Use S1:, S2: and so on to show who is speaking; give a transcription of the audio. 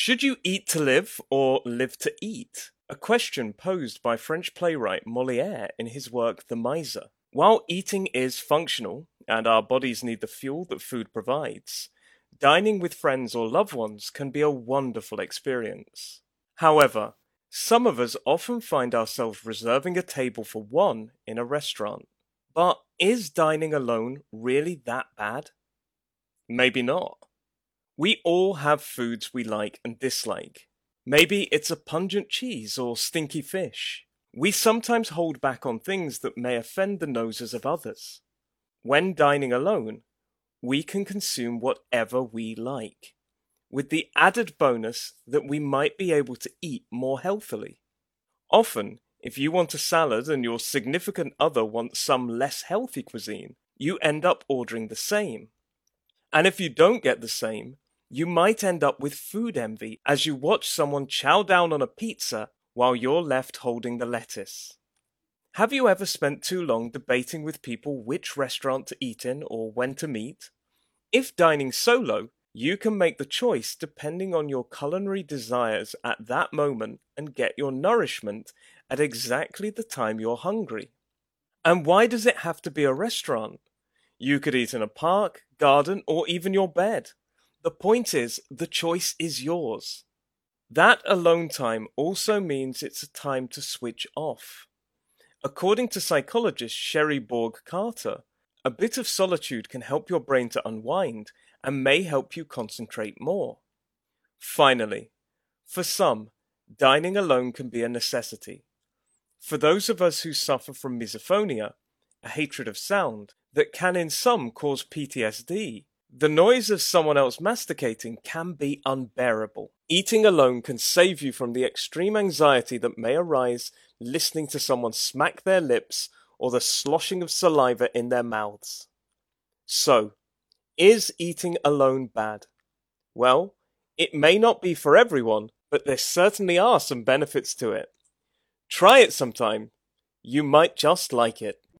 S1: Should you eat to live or live to eat? A question posed by French playwright Molière in his work The Miser. While eating is functional, and our bodies need the fuel that food provides, dining with friends or loved ones can be a wonderful experience. However, some of us often find ourselves reserving a table for one in a restaurant. But is dining alone really that bad? Maybe not. We all have foods we like and dislike. Maybe it's a pungent cheese or stinky fish. We sometimes hold back on things that may offend the noses of others. When dining alone, we can consume whatever we like, with the added bonus that we might be able to eat more healthily. Often, if you want a salad and your significant other wants some less healthy cuisine, you end up ordering the same. And if you don't get the same, you might end up with food envy as you watch someone chow down on a pizza while you're left holding the lettuce. Have you ever spent too long debating with people which restaurant to eat in or when to meet? If dining solo, you can make the choice depending on your culinary desires at that moment and get your nourishment at exactly the time you're hungry. And why does it have to be a restaurant? You could eat in a park, garden, or even your bed. The point is, the choice is yours. That alone time also means it's a time to switch off. According to psychologist Sherry Borg Carter, a bit of solitude can help your brain to unwind and may help you concentrate more. Finally, for some, dining alone can be a necessity. For those of us who suffer from misophonia, a hatred of sound that can in some cause PTSD, the noise of someone else masticating can be unbearable. Eating alone can save you from the extreme anxiety that may arise listening to someone smack their lips or the sloshing of saliva in their mouths. So, is eating alone bad? Well, it may not be for everyone, but there certainly are some benefits to it. Try it sometime. You might just like it.